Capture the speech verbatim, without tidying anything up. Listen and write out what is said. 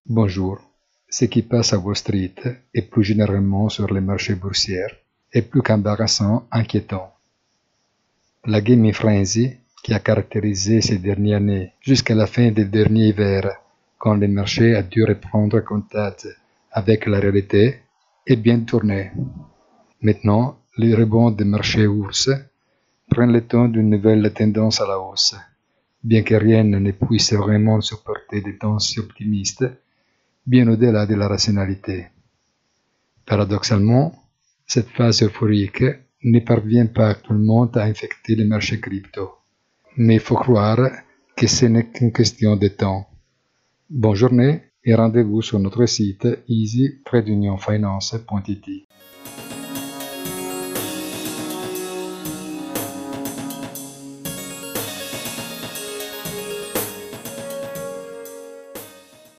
Bonjour. Ce qui passe à Wall Street et plus généralement sur les marchés boursiers est plus qu'embarrassant, inquiétant. La gaming frenzy qui a caractérisé ces dernières années jusqu'à la fin du dernier hiver, quand le marché a dû reprendre contact avec la réalité, est bien tournée. Maintenant, les rebonds des marchés ours prennent le temps d'une nouvelle tendance à la hausse, bien que rien ne puisse vraiment supporter des tons si optimistes, bien au-delà de la rationalité. Paradoxalement, cette phase euphorique ne parvient pas actuellement à infecter les marchés crypto, mais il faut croire que ce n'est qu'une question de temps. Bonne journée et rendez-vous sur notre site easy tiret union finance point it.